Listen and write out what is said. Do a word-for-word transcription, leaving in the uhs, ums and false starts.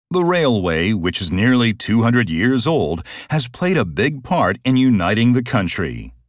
The railway, which is nearly two hundred years old, has played a big part in uniting the country.